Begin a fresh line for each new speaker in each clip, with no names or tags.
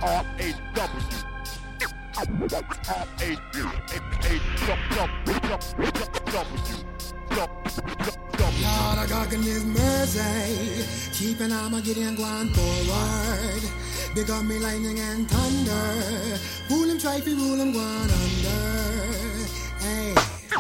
Lord, I God in His mercy, keeping I'ma getting going forward. Become me lightning and thunder, fool him, try to rule him, going under. Hey.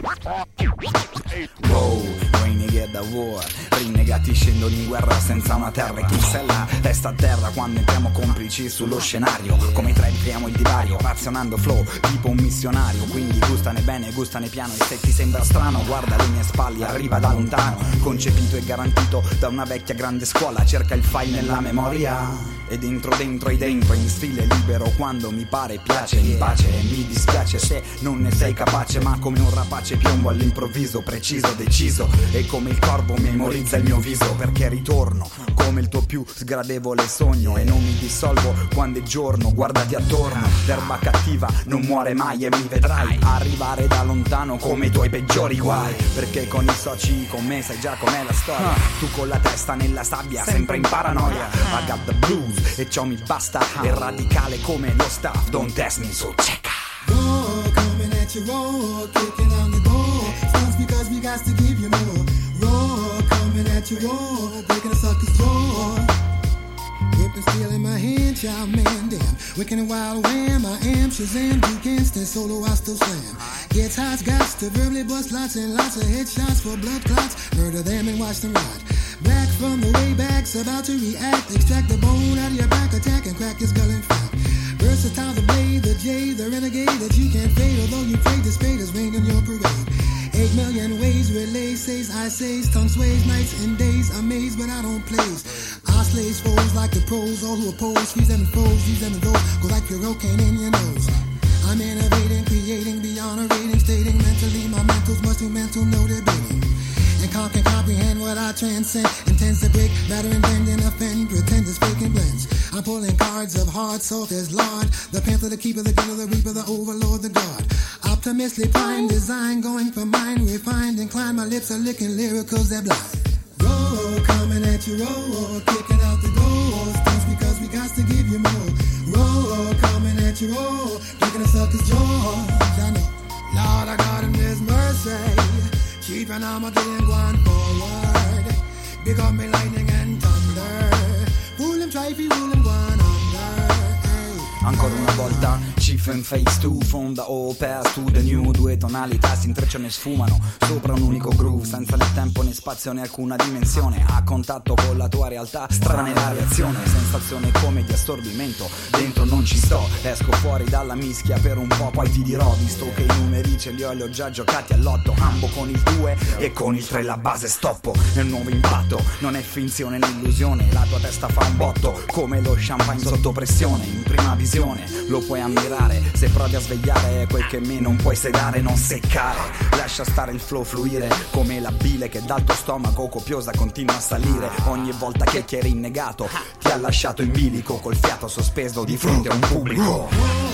Wow, renegade da war, rinnegati scendono in guerra senza una terra e chi se la resta a terra quando entriamo complici sullo scenario. Come trend creiamo il divario, razionando flow tipo un missionario. Quindi gustane bene, gustane piano e se ti sembra strano guarda le mie spalle, arriva da lontano. Concepito e garantito da una vecchia grande scuola, cerca il file nella memoria. E dentro in stile libero quando mi pare piace in pace. Mi dispiace se non ne sei capace, ma come un rapace piombo all'improvviso, preciso, deciso. E come il corvo memorizza il mio viso, perché ritorno come il tuo più sgradevole sogno. E non mi dissolvo quando è giorno, guardati attorno. L'erba cattiva non muore mai e mi vedrai arrivare da lontano come i tuoi peggiori guai. Perché con i soci con me sai già com'è la storia. Tu con la testa nella sabbia, sempre in paranoia. I got the blues e ciò mi basta, è radicale come lo staff. Don't test me, so check out.
Roar, coming at you, roar, kicking on the door. Sounds because we got to give you more. Roar, coming at you, roar, breaking the sucker's jaw. Whipping steel in my hand, child man, damn. Wicked and wild wham, I am Shazam. You can't stand solo, I still slam. Gets hot, got to verbally bust lots and lots of headshots for blood clots. Murder them and watch them rot. Black from the way back's about to react. Extract the bone out of your back, attack and crack your skull in fat. Versatile, the blade, the J, the renegade that you can't fade. Although you pray, the spade is rain in your parade. 8 million ways, relay, says, I says, tongue sways, nights and days, amazed, but I don't plays. I slays foes like the pros, all who oppose, freeze them and froze, use them and those, go like your cocaine in your nose. I'm innovating, creating, beyond a rating, stating mentally, my mental's much too mental, no debating. And can comprehend what I transcend. Intends to break, batter and bend and offend. Pretenders, faking blends. I'm pulling cards of hard salt as Lord. The panther, the keeper, the killer, the reaper, the overlord, the god. Optimistically prime design, going for mine, refined, inclined. My lips are licking lyricals that blind. Roar, coming at you, roar, kicking out the doors. That's because we got to give you more. Roar, coming at you, roar, breaking the sucker's jaws. I know, Lord, I got him, there's mercy. Keeping Armageddon going forward. Big up me lightning and thunder. Fool him, try if you rule him, going under. Hey.
Ancora una volta, Chief and Face 2, from the old past to the new. Due tonalità si intrecciano e sfumano sopra un unico groove, senza né tempo né spazio né alcuna dimensione. A contatto con la tua realtà, strana è la reazione. Sensazione come di assorbimento, dentro non ci sto. Esco fuori dalla mischia per un po', poi ti dirò. Visto che i numeri ce li ho già giocati all'otto. Ambo con il 2 e con il 3 la base stoppo. Nel nuovo impatto, non è finzione né illusione. La tua testa fa un botto, come lo champagne sotto pressione. In prima visione lo puoi ammirare, se provi a svegliare quel che me non puoi sedare, non seccare. Lascia stare il flow fluire come la bile che dal tuo stomaco copiosa continua a salire. Ogni volta che ti eri innegato ti ha lasciato in bilico, col fiato sospeso di fronte a un pubblico.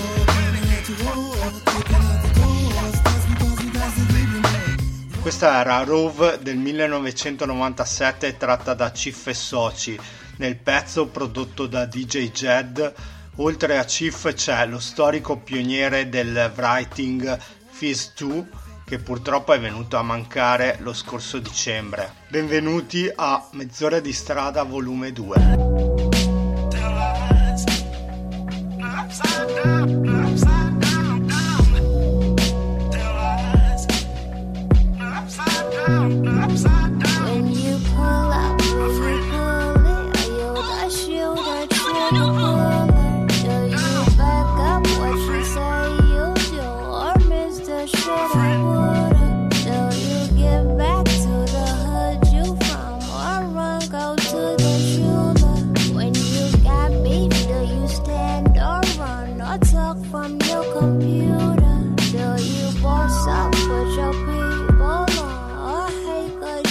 Questa era Rove del 1997, tratta da Chief e Soci. Nel pezzo prodotto da DJ Jed, oltre a Chief c'è lo storico pioniere del writing Fizz 2, che purtroppo è venuto a mancare lo scorso dicembre. Benvenuti a Mezz'ora di strada volume 2.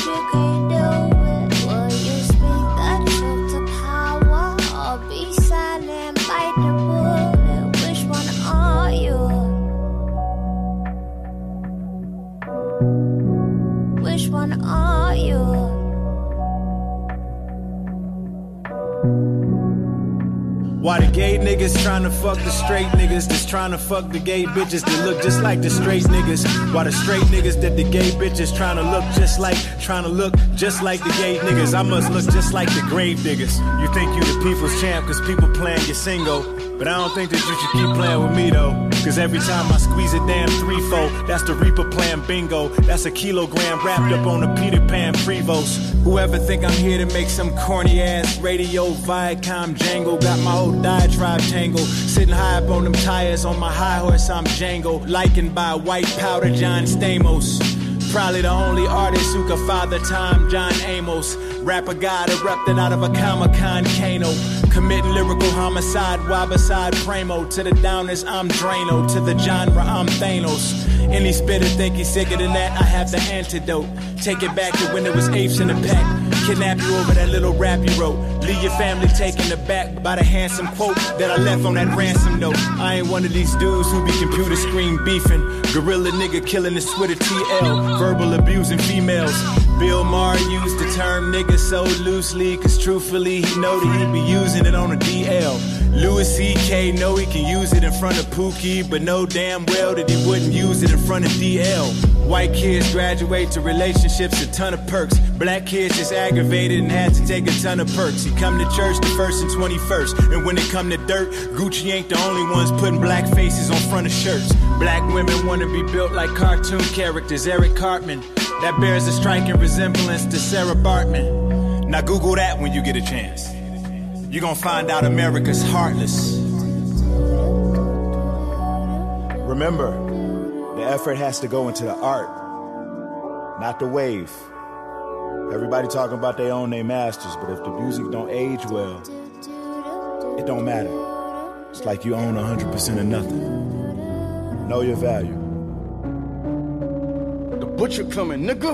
Beside Why the gay niggas tryna fuck the straight niggas that's tryna fuck the gay bitches that look just like the straight niggas? Why the straight niggas that the gay bitches tryna look just like the gay niggas? I must look just like the grave diggers. You think you the people's champ cause people playing your single, but I don't think that you should keep playing with me though. Cause every time I squeeze a damn 3-4, that's the Reaper playing bingo. That's a kilogram wrapped up on a Peter Pan Prevost. Whoever think I'm here to make some corny ass radio Viacom jangle, got my old diatribe tangle. Sitting high up on them tires, on my high horse I'm Django. Likened by white powder John Stamos. Probably the only artist who could father time John Amos. Rapper God erupted out of a Comic-Con Kano. Committing lyrical homicide while beside Primo. To the downers I'm Drano, to the genre I'm Thanos. Any spitter think he's sicker than that, I have the antidote. Take it back to when it was apes in the pack. Kidnap you over that little rap you wrote. Leave your family taken aback by the handsome quote that I left on that ransom note. I ain't one of these dudes who be computer screen beefing. Gorilla nigga killing his Twitter TL. Verbal abusing females. Bill Maher used the term nigga so loosely, cause truthfully he know that he be using it on a DL. Louis C.K. know he can use it in front of Pookie, but know damn well that he wouldn't use it in front of DL. White kids graduate to relationships, a ton of perks. Black kids just aggravated and had to take a ton of perks. He come to church the 1st and 21st, and when it come to dirt, Gucci ain't the only ones putting black faces on front of shirts. Black women wanna be built like cartoon characters, Eric Cartman. That bears a striking resemblance to Sarah Bartman. Now Google that when you get a chance. You're gonna find out America's heartless. Remember, the effort has to go into the art, not the wave. Everybody talking about they own their masters, but if the music don't age well, it don't matter. It's like you own 100% of nothing. Know your value.
The butcher coming, nigga.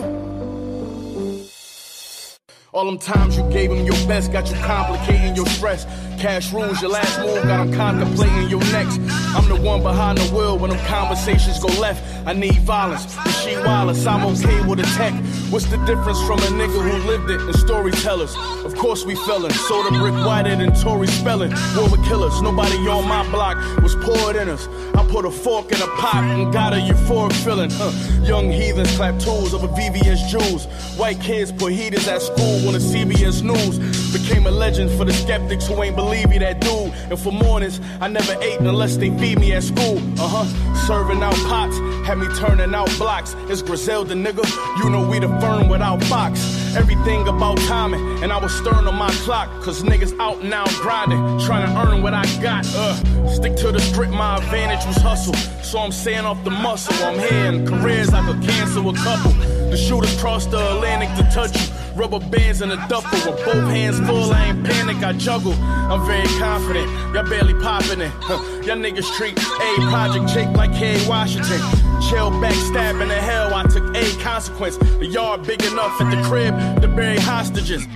All them times you gave him your best got you complicating your stress. Cash rules, your last move got him contemplating your next. I'm the one behind the wheel when them conversations go left. I need violence, Rasheed Wallace, I'm okay with a tech. What's the difference from a nigga who lived it and storytellers? Of course we fellin', soda brick whiter than Tory Spelling. War with killers, nobody on my block was poured in us. I put a fork in a pot and got a euphoric feeling. Young heathens clap tools over VVS jewels. White kids put heaters at school on the CBS News. Became a legend for the skeptics who ain't believe me, that dude. And for mornings, I never ate unless they feed me at school. Serving out pots, had me turning out blocks. It's Griselda, nigga. You know we the firm without Fox. Everything about timing, and I was stern on my clock. Cause niggas out now grinding, trying to earn what I got. Stick to the script, my advantage was hustle. So I'm saying off the muscle, I'm here in careers I could cancel a couple. The shooters crossed the Atlantic to touch you. Rubber bands in a duffel with both hands full, I ain't panic, I juggle. I'm very confident, y'all barely popping it. Y'all niggas treat A Project Jake like K. Washington. Chill backstabbing the hell, I took A consequence. The yard big enough at the crib to bury hostages.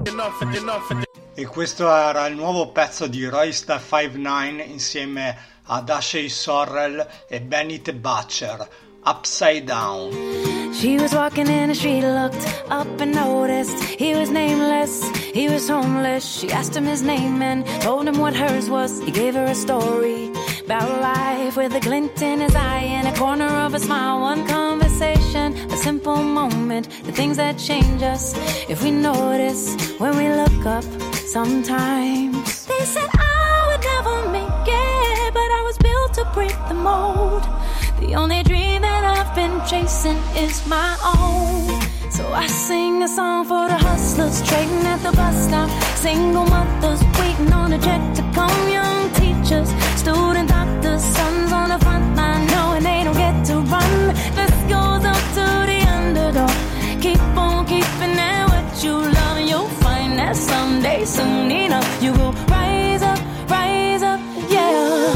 E questo era il nuovo pezzo di Roysta 5'9" insieme ad Ashley Sorrell e Benny Butcher, Upside Down.
She was walking in the street, looked up and noticed he was nameless, he was homeless. She asked him his name and told him what hers was. He gave her a story about life with a glint in his eye and a corner of a smile. One conversation, a simple moment, the things that change us if we notice when we look up sometimes. They said I would never make it, but I was built to break the mold. The only dream that I've been chasing is my own. So I sing a song for the hustlers trading at the bus stop, single mothers waiting on a check to come, young teachers, student doctors, sons on the front line knowing they don't get to run. This goes up to the underdog. Keep on keeping at what you love, and you'll find that someday, soon enough, you will rise up, yeah.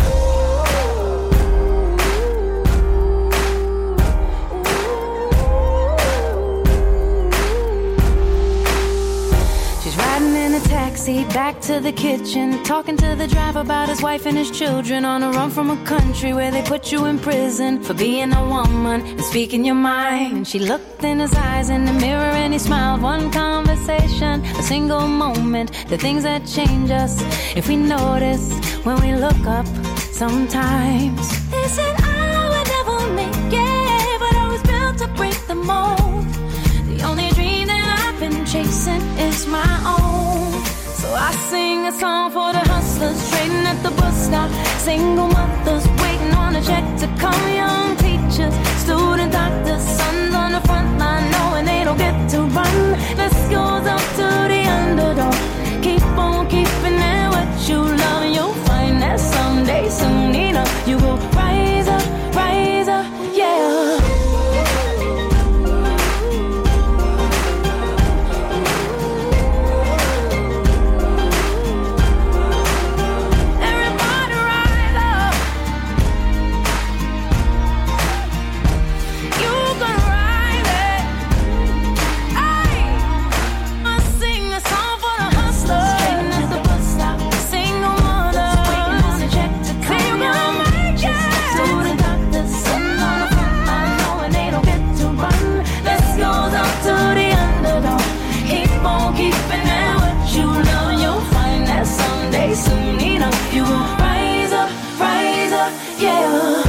Taxi back to to the kitchen, talking to the driver about his wife and his children, on a run from a country where they put you in prison for being a woman and speaking your mind. And she looked in his eyes in the mirror and he smiled. One conversation, a single moment, the things that change us if we notice when we look up sometimes. They said I would never make it, but I was built to break the mold. The only dream that I've been chasing is my own. So I sing a song for the hustlers trading at the bus stop, single mothers waiting on a check to come, young teachers, student doctors, sons on the front line knowing they don't get to run. This goes up to the underdog. Keep on keeping it what you love, and you'll find that someday, soon enough, you will rise up, yeah. Soon enough, you will rise up, yeah.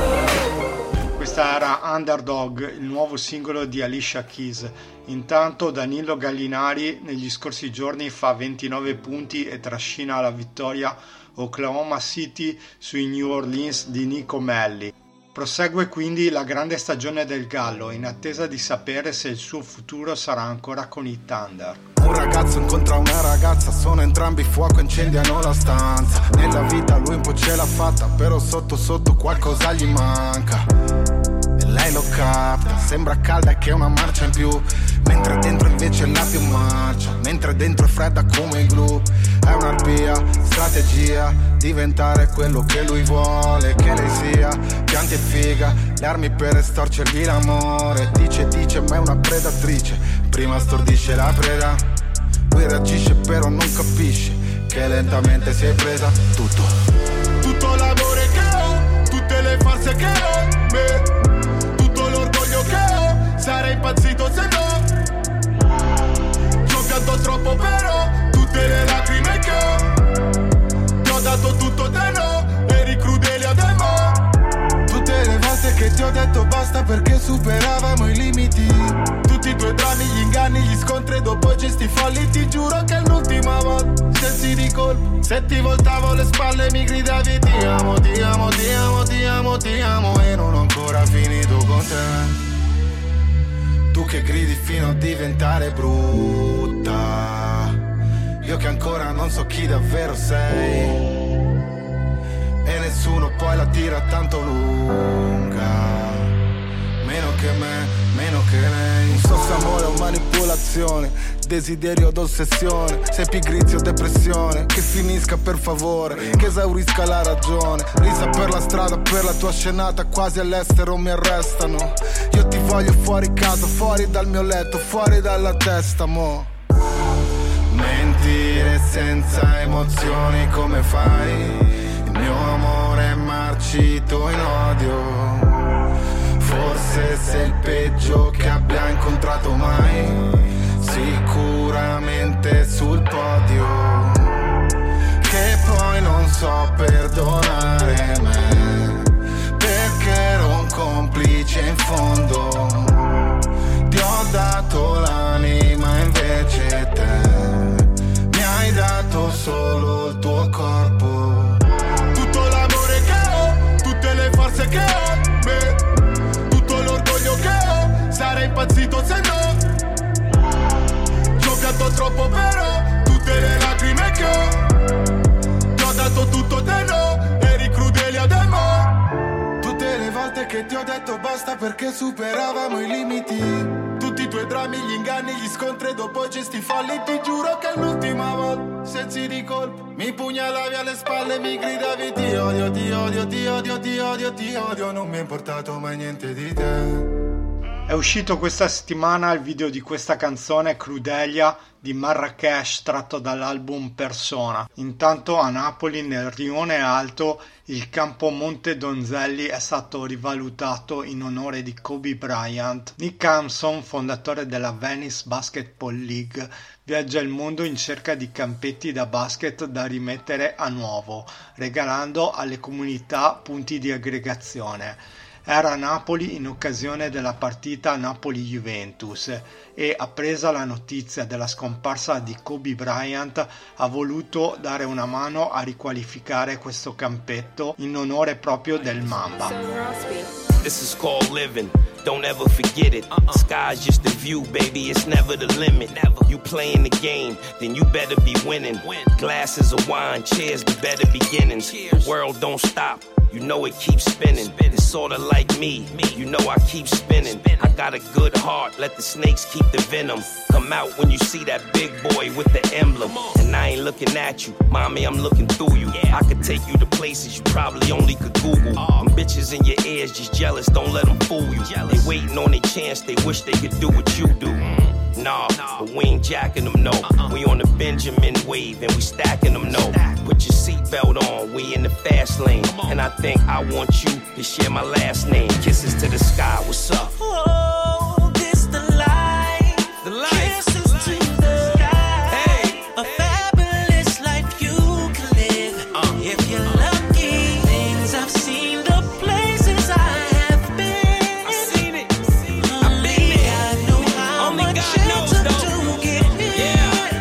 Questa era Underdog, il nuovo singolo di Alicia Keys. Intanto Danilo Gallinari negli scorsi giorni fa 29 punti e trascina la vittoria Oklahoma City sui New Orleans di Nico Melli. Prosegue quindi la grande stagione del Gallo, in attesa di sapere se il suo futuro sarà ancora con i Thunder.
Un ragazzo incontra una ragazza, sono entrambi fuoco, incendiano la stanza. Nella vita lui un po' ce l'ha fatta, però sotto sotto qualcosa gli manca. E lei lo capta, sembra calda e che è una marcia in più, mentre dentro invece la più marcia, mentre dentro è fredda come il glue. È un'arpia, strategia, diventare quello che lui vuole che lei sia. Pianti e figa, le armi per estorcergli l'amore. Dice ma è una predatrice, prima stordisce la preda, poi reagisce però non capisce che lentamente si è presa tutto l'amore che ho, tutte le farse che ho, tutto l'orgoglio che ho, sarei impazzito se no. Ci ho pianto troppo però, tutte le lacrime che ho, ti ho dato tutto te no, eri crudele a te ma. Tutte le volte che ti ho detto basta perché superavamo i limiti, tutti i tuoi drammi, gli inganni, gli scontri, dopo gesti folli, ti giuro che è l'ultima volta. Sensi di colpo, se ti voltavo le spalle mi gridavi ti amo, ti amo, ti amo, ti amo, ti amo, e non ho ancora finito con te. Tu che gridi fino a diventare brutta, io che ancora non so chi davvero sei, e nessuno poi la tira tanto lunga, meno che me, meno che lei. Un sosso amore o manipolazione, desiderio od ossessione, se pigrizia o depressione, che finisca per favore, che esaurisca la ragione. Risa per la strada, per la tua scenata, quasi all'estero mi arrestano. Io ti voglio fuori casa, fuori dal mio letto, fuori dalla testa, mo. Mentire senza emozioni come fai? Il mio amore è marcito in odio, forse sei il peggio che abbia incontrato mai, sicuramente sul podio, che poi non so perdonare me, perché ero un complice in fondo, ti ho dato l'anima invece te mi hai dato solo il tuo corpo, tutto l'amore che ho, tutte le forze che ho, sarei impazzito se no. Ci ho pianto troppo però, tutte le lacrime che ho, ti ho dato tutto te no, eri crudele a te ma. Tutte le volte che ti ho detto basta perché superavamo i limiti, tutti i tuoi drammi, gli inganni, gli scontri, dopo gesti folli, ti giuro che è l'ultima volta. Sensi di colpo, mi pugnalavi alle spalle, mi gridavi ti odio, ti odio, ti odio, ti odio, ti odio, non mi è importato mai niente di te.
È uscito questa settimana il video di questa canzone, Crudelia, di Marrakesh, tratto dall'album Persona. Intanto a Napoli, nel Rione Alto, il campo Monte Donzelli è stato rivalutato in onore di Kobe Bryant. Nick Hampson, fondatore della Venice Basketball League, viaggia il mondo in cerca di campetti da basket da rimettere a nuovo, regalando alle comunità punti di aggregazione. Era a Napoli in occasione della partita Napoli-Juventus e, appresa la notizia della scomparsa di Kobe Bryant, ha voluto dare una mano a riqualificare questo campetto in onore proprio del Mamba.
This is called living. Don't ever forget it. Sky's just the view, baby. It's never the limit. You playing the game, then you better be winning. Glasses of wine, cheers to better beginnings. The world don't stop. You know it keeps spinning. It's sorta like me. You know I keep spinning. I got a good heart. Let the snakes keep the venom. Come out when you see that big boy with the emblem. And I ain't looking at you, mommy. I'm looking through you. I could take you to places you probably only could Google. Them bitches in your ears just jealous. Don't let them fool you. They waiting on their chance. They wish they could do what you do. Nah, but we ain't jacking them, no. We on the Benjamin wave and we stacking them, no. Put your seatbelt on, we in the fast lane. And I think I want you to share my last name. Kisses to the sky, what's up?
Oh, this the life.
The life.
Kisses to the sky. Hey. A fabulous life you can live. If you're lucky, things I've seen, the places I have been.
I've seen it. I've been there.
God know how
Only
much
God knows,
it took
though.
to get here.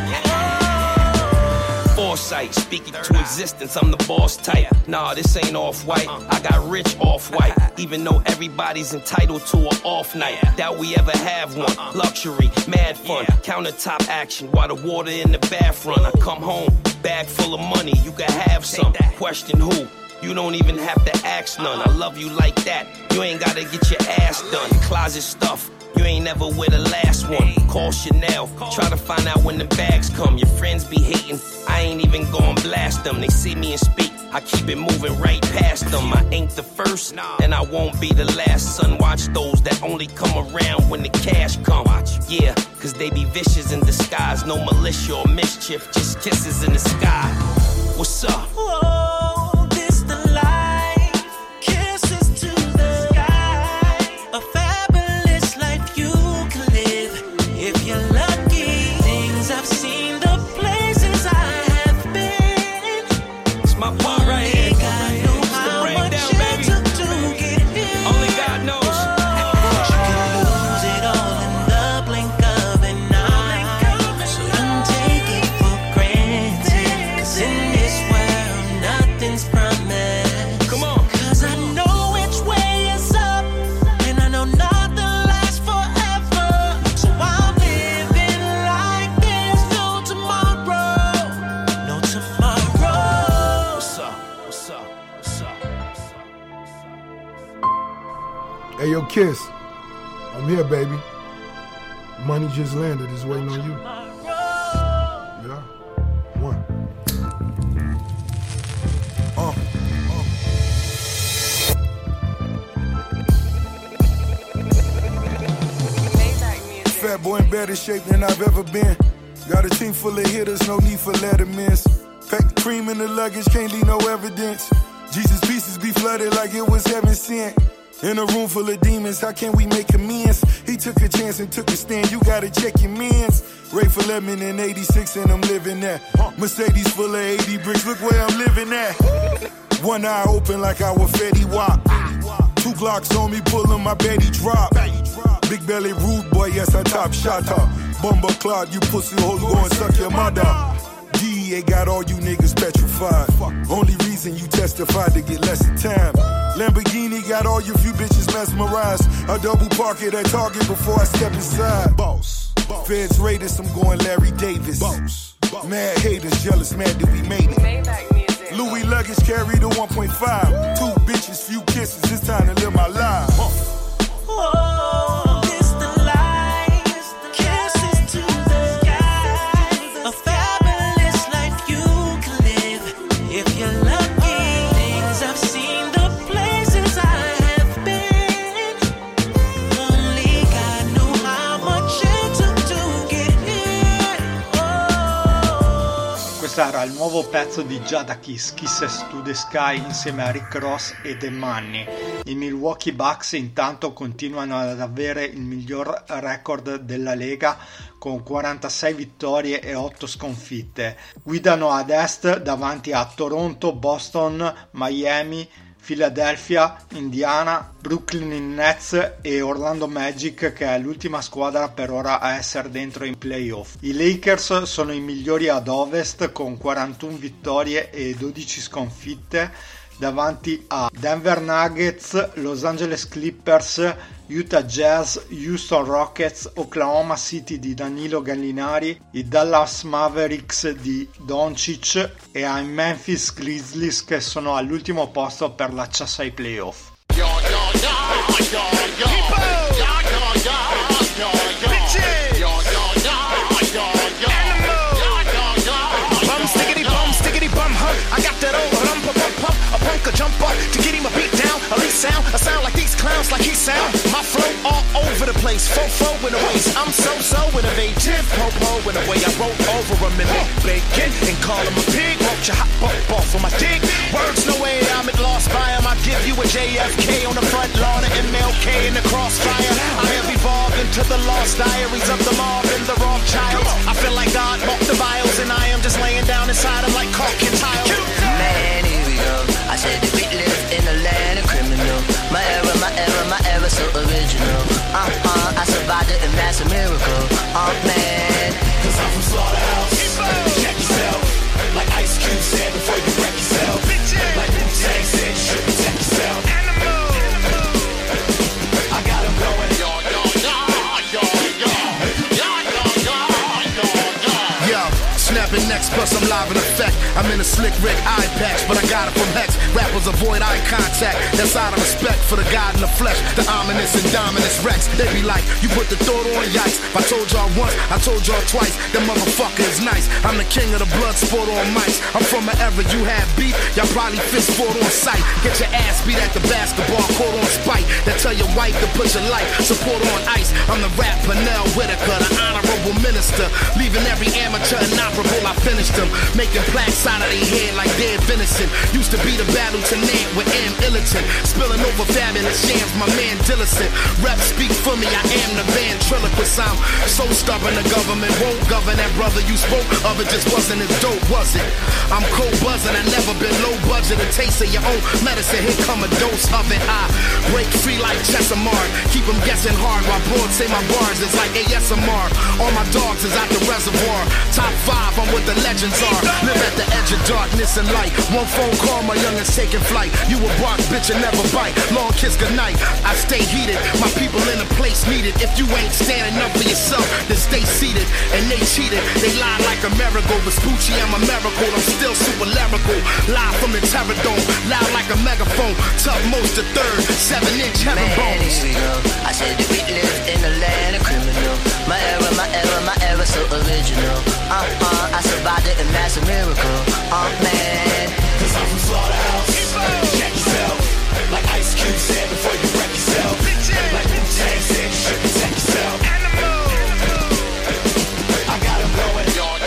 Foresight, speaking to existence, I'm the boss type. Nah, this ain't off-white, I got rich off-white. Even though everybody's entitled to an off night, doubt we ever have one. Luxury, mad fun, countertop action while the water in the bath run. I come home, bag full of money, you can have some. Question who? You don't even have to ask none. I love you like that, you ain't gotta get your ass done. Closet stuff, you ain't never with the last one. Call Chanel, try to find out when the bags come. Your friends be hating, I ain't even gon' blast them. They see me and speak, I keep it moving right past them. I ain't the first, and I won't be the last. Son, watch those that only come around when the cash come. Yeah, cause they be vicious in disguise. No militia or mischief, just kisses in the sky. What's up?
Oh, this the life. Kisses to the sky. A fabulous life you can live. If you're lucky, things I've seen, the places I have been.
It's my part right here.
Only God knows how much it took to get here.
Only God knows.
You can lose it all in the blink of an eye. So don't take it for granted. 'Cause in this world, nothing's promised.
Come on.
'Cause I know which way is up, and I know nothing lasts forever. So I'm living like there's no tomorrow. No tomorrow.
What's up? What's up? What's up?
Hey, yo, Kiss. I'm here, baby. Money just landed. It's waiting on you. Yeah. One.
Fat boy in better shape than I've ever been. Got a team full of hitters, no need for lettermans. Pack the cream in the luggage, can't leave no evidence. Jesus pieces be flooded like it was heaven sent. In a room full of demons, how can we make amends? He took a chance and took a stand, you gotta check your mans. Ray for lemon in 86 and I'm living that. Mercedes full of 80 bricks, look where I'm living at. One eye open like I was Fetty Wap. 2 Glocks on me, pulling my Betty drop. Big belly rude boy, yes I top shot her. Bumble clot, you pussy hoes go and suck your mother. DEA got all you niggas petrified. Only reason you testified to get less time. Lamborghini got all you few bitches mesmerized. I double park it at Target before I step inside. Boss. Feds raiders, I'm going Larry Davis. Boss. Mad haters, jealous, mad that we made it. Louis luggage carry the 1.5. 2 bitches, few kisses, it's time to live my life.
Oh, this the life. Kisses to the sky. A fabulous life you can live. If you're lucky, things I've seen, the places I have been. Only God
Questa era il nuovo pezzo di Jadakiss, Kisses to the Sky, insieme a Rick Ross e The Money. I Milwaukee Bucks intanto continuano ad avere il miglior record della Lega con 46 vittorie e 8 sconfitte. Guidano ad est davanti a Toronto, Boston, Miami, Philadelphia, Indiana, Brooklyn Nets e Orlando Magic, che è l'ultima squadra per ora a essere dentro in playoff. I Lakers sono i migliori ad ovest con 41 vittorie e 12 sconfitte davanti a Denver Nuggets, Los Angeles Clippers, Utah Jazz, Houston Rockets, Oklahoma City di Danilo Gallinari, i Dallas Mavericks di Doncic e ai Memphis Grizzlies, che sono all'ultimo posto per l'accesso ai playoff.
Jump up to get him a beat down, at least sound like these clowns, like he sound. My flow all over the place, fo in the waist. I'm so innovative, po in the way I roll over him and make bacon and call him a pig. Won't you hop up off of my dick? Words no way, I'm at lost by him. I give you a JFK on the front lawn of MLK in the crossfire. I have evolved into the lost diaries of the mob and the wrong child. I feel like God walked the vials and I am just laying down inside him like caulk and tile.
Man, here we go. I said that we live in a land of criminal. My era, so original. I survived it and that's a miracle. Man.
Cause I'm from Slaughterhouse. Check yourself. Like Ice Cube said before you wreck yourself. Like Wu-Tang said, you should protect yourself. I got him going. Snapping next, plus I'm live in effect. I'm in a slick Rick eye patch, but I got it from Hex. Rappers avoid eye contact. That's out of respect for the God in the flesh. The ominous and dominant Rex. They be like, you put the thought on yikes. If I told y'all once, I told y'all twice. That motherfucker is nice. I'm the king of the blood sport on mics. I'm from an era you had beef. Y'all probably fist fought on sight. Get your ass beat at the basketball court on spite. That tell your wife to put your life support on ice. I'm the rap Pernell Whitaker, the honorable minister. Leaving every amateur inoperable. I finished them, making plaques out of their head like dead venison. Used to be the battle tonight with M. Illiton, spilling over fabulous jams, my man Dillicent. Rep speak for me, I am the ventriloquist. I'm so stubborn, the government won't govern. That brother you spoke of, it just wasn't as dope, was it? I'm cold buzzing, I never been low budget. A taste of your own medicine, here come a dose of it. I break free like Chesamard, keep them guessing hard while broads say my bars is like ASMR. All my dogs is out the reservoir, top 5, I'm what the legends are. Live at the edge of darkness and light. One phone call, my youngins taking flight. You a bark, bitch, and never bite. Long kiss goodnight. I stay heated, my people in a place needed. If you ain't standing up for yourself, then stay seated. And they cheated, they lied like a miracle. Vespucci, I'm a miracle, I'm still super lyrical. Live from the Terror Dome, loud like a megaphone. Tough most the third, 7-inch heaven bones.
Here we go. I said that we live in a land of criminal. My era, so original. I survived it and that's a miracle. Man.
Cause I'm from Slaughterhouse. Check yourself. Like Ice Cube said before you wreck yourself. Like Wu-Tang said, you should protect yourself. I got him going.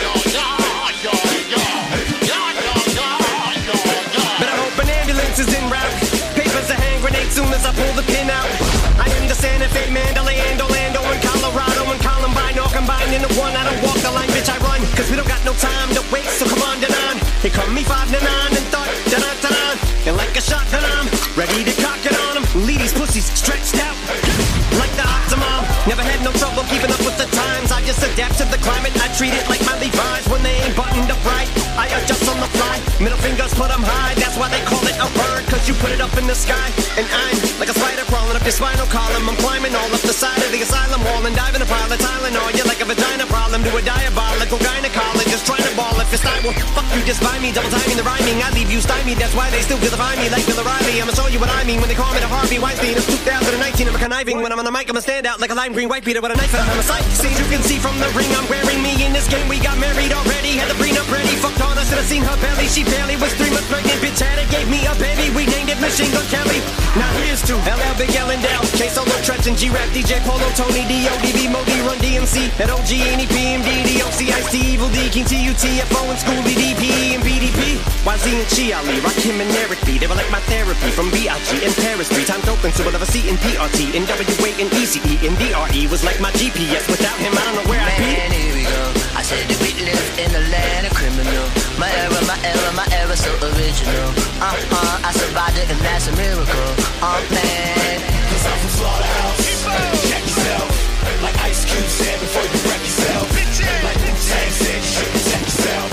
But I hope an ambulance is en route. Papers are hand grenades soon as I pull the pin out. I am the Santa Fe, Mandalay, and Orlando, and Colorado, and Columbine, all combined into one. I don't walk the line, bitch, I run. Cause we don't got no time to waste, so come on, Danon. They call me 5 to 9 and thought, Danon. And like a shotgun, I'm ready to cock it on them. Lead these pussies stretched out like the Optimum. Never had no trouble keeping up with the times. I just adapt to the climate. I treat it like my Levi's when they ain't buttoned up right. I adjust on the fly. Middle fingers put them high. That's why they call it a bird. Cause you put it up in the sky. And I'm like a spider crawling up your spinal column. I'm climbing all up the side of the asylum wall and diving a pile of Tylenol. You're like a vagina problem to a diabolical gynecologist trying to ball if your style will fuck you just by me. Double timing the rhyming. I leave you stymied. That's why they still vilify me like Bill O'Reilly. I'ma show you what I mean when they call me the Harvey Weinstein. It's 2019. I'm a conniving. When I'm on the mic, I'ma stand out like a lime green white beater with a knife and I'm a sight. See, you can see from the ring I'm wearing me in this game. We got married already. Had the prenup ready. Fucked on us. Should've seen her belly. She barely was 3 months pregnant. Bitch had it. Gave me a baby. We named it Machine Gun Kelly. Now here's to LL Big L and Dell. K Solo Trench Justin, G-Rap, DJ Polo, Tony, D.O.D.B, Modi, Run DMC, that OG, N.E.P, M.D, D.O.C, Ice-T, Evil D, King T, U.T.F.O, and Schoolie, D.P, and B.D.P, YZ and Chi Ali, Rakim and Eric B, they were like my therapy, from B.I.G. and Paris, 3 times open, so we'll ever see in P.R.T, and W.A. and E.C.E, and D.R.E was like my GPS, without him I don't know where I'd be.
Man, here we go, I said that we live in the land of criminal. My era, my era, my era so original. I survived it and that's a miracle. Man, 'cause I'm from Slaughterhouse. Check yourself, like Ice Cube said before you wreck yourself. Like Wu-Tang said, you should protect yourself.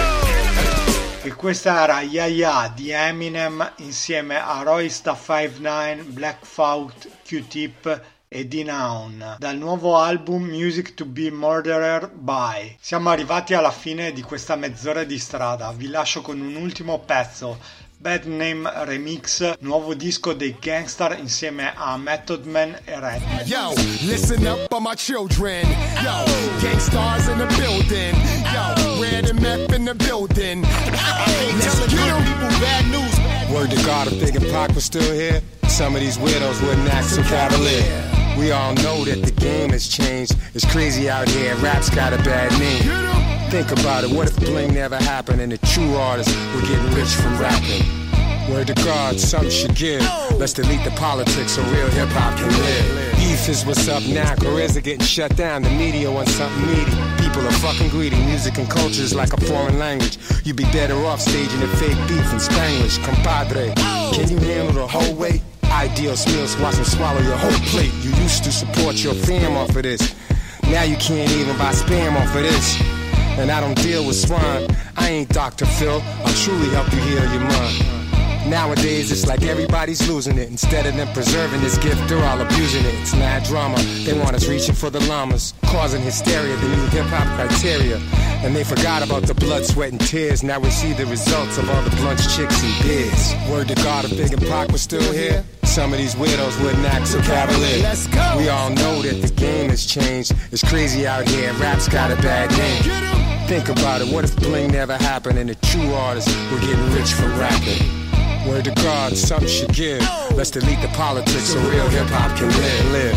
E questa era Ya Ya di Eminem insieme a Roysta 59, Black Thought, Q-Tip e D-Noun dal nuovo album Music to be Murdered by. Siamo arrivati alla fine di questa mezz'ora di strada, vi lascio con un ultimo pezzo, Bad Name Remix, nuovo disco dei Gangstar insieme a Method Man e Redman.
Yo, listen up for my children. Yo, Gangstars in the building. Yo, Red and Meth in the building. Let's get them. People bad news.
Word to God, if Big and Pac was still here, some of these widows wouldn't act so cavalier. We all know that the game has changed. It's crazy out here, rap's got a bad name. Think about it, what if bling never happened and the true artists were getting rich from rapping? Word to God, something should give. Let's delete the politics so real hip-hop can live. Beef is what's up now, careers are getting shut down. The media wants something meaty. People are fucking greedy. Music and culture is like a foreign language. You'd be better off staging the fake beef in Spanglish. Compadre, can you handle the whole weight? Ideal meals, watch them swallow your whole plate. You used to support your fam off of this. Now you can't even buy spam off of this. And I don't deal with swine. I ain't Dr. Phil. I'll truly help you heal your mind. Nowadays it's like everybody's losing it. Instead of them preserving this gift, they're all abusing it. It's mad drama. They want us reaching for the llamas, causing hysteria, the new hip-hop criteria. And they forgot about the blood, sweat, and tears. Now we see the results of all the blunts, chicks, and beers. Word to God, if Big and Pac was still here, some of these widows wouldn't act so cavalier.
Let's go.
We all know that the game has changed. It's crazy out here, rap's got a bad name. Think about it, what if bling never happened and the true artists were getting rich from rapping? Word to God, something should give. Let's delete the politics so real hip-hop can live.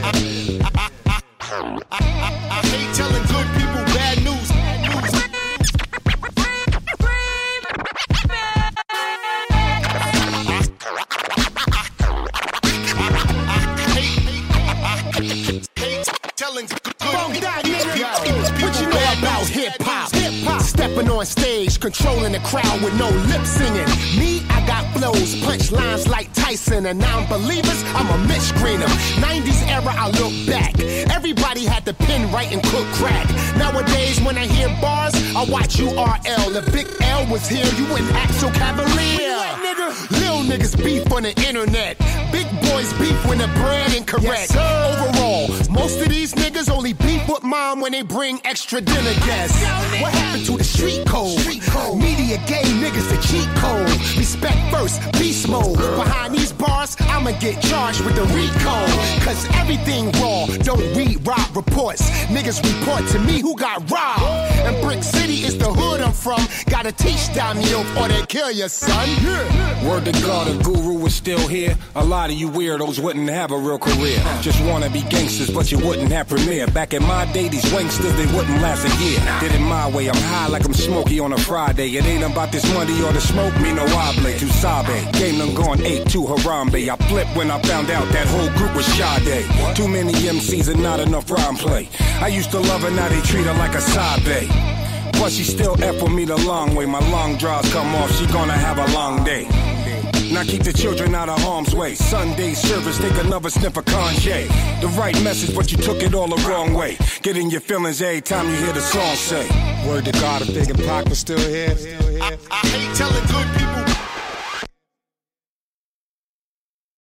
I hate telling good people bad news. What you know about hip-hop? Stepping on stage, controlling the crowd with no lip singing. Me, I got flows, punch lines like Tyson. And non-believers, I'm a Mitch Greener. 90s era, I look back. Everybody had the pen right and cook crack. Nowadays, when I hear bars, I watch URL. If Big L was here, you wouldn't act so cavalier. Lil niggas beef on the internet. Big boys beef when the brand incorrect. Overall, most of these niggas only beef with mom when they bring extra dinner guests. What happened to the street code? Media gay niggas the cheat code. Respect first, beast mode. Behind these bars, I'ma get charged with the RICO. Cause everything raw, don't read rob reports. Niggas report to me who got robbed. And Brick City is the hood I'm from. Gotta teach down the oath or they kill your son.
Word to God, if Guru was still here, a lot of you weirdos wouldn't have a real career. Just wanna be gangsters, but you wouldn't have premiere. Back in my day, these wanksters, they wouldn't last a year. Did it my way, I'm high like I'm smoky on a Friday. It ain't about this money or the smoke, me no oble. To Sabe, game done gone 8-2 Harambe. I flipped when I found out that whole group was Sade. Too many MCs and not enough rhyme play. I used to love her, now they treat her like a Sabe. But she still F with me the long way. My long draws come off, she gonna have a long day. Now keep the children out of harm's way. Sunday service, take another sniff of Kanye. The right message, but you took it all the wrong way. Get in your feelings every time you hear the song say. Word to God, if Big and Pac was still here.
I hate telling good people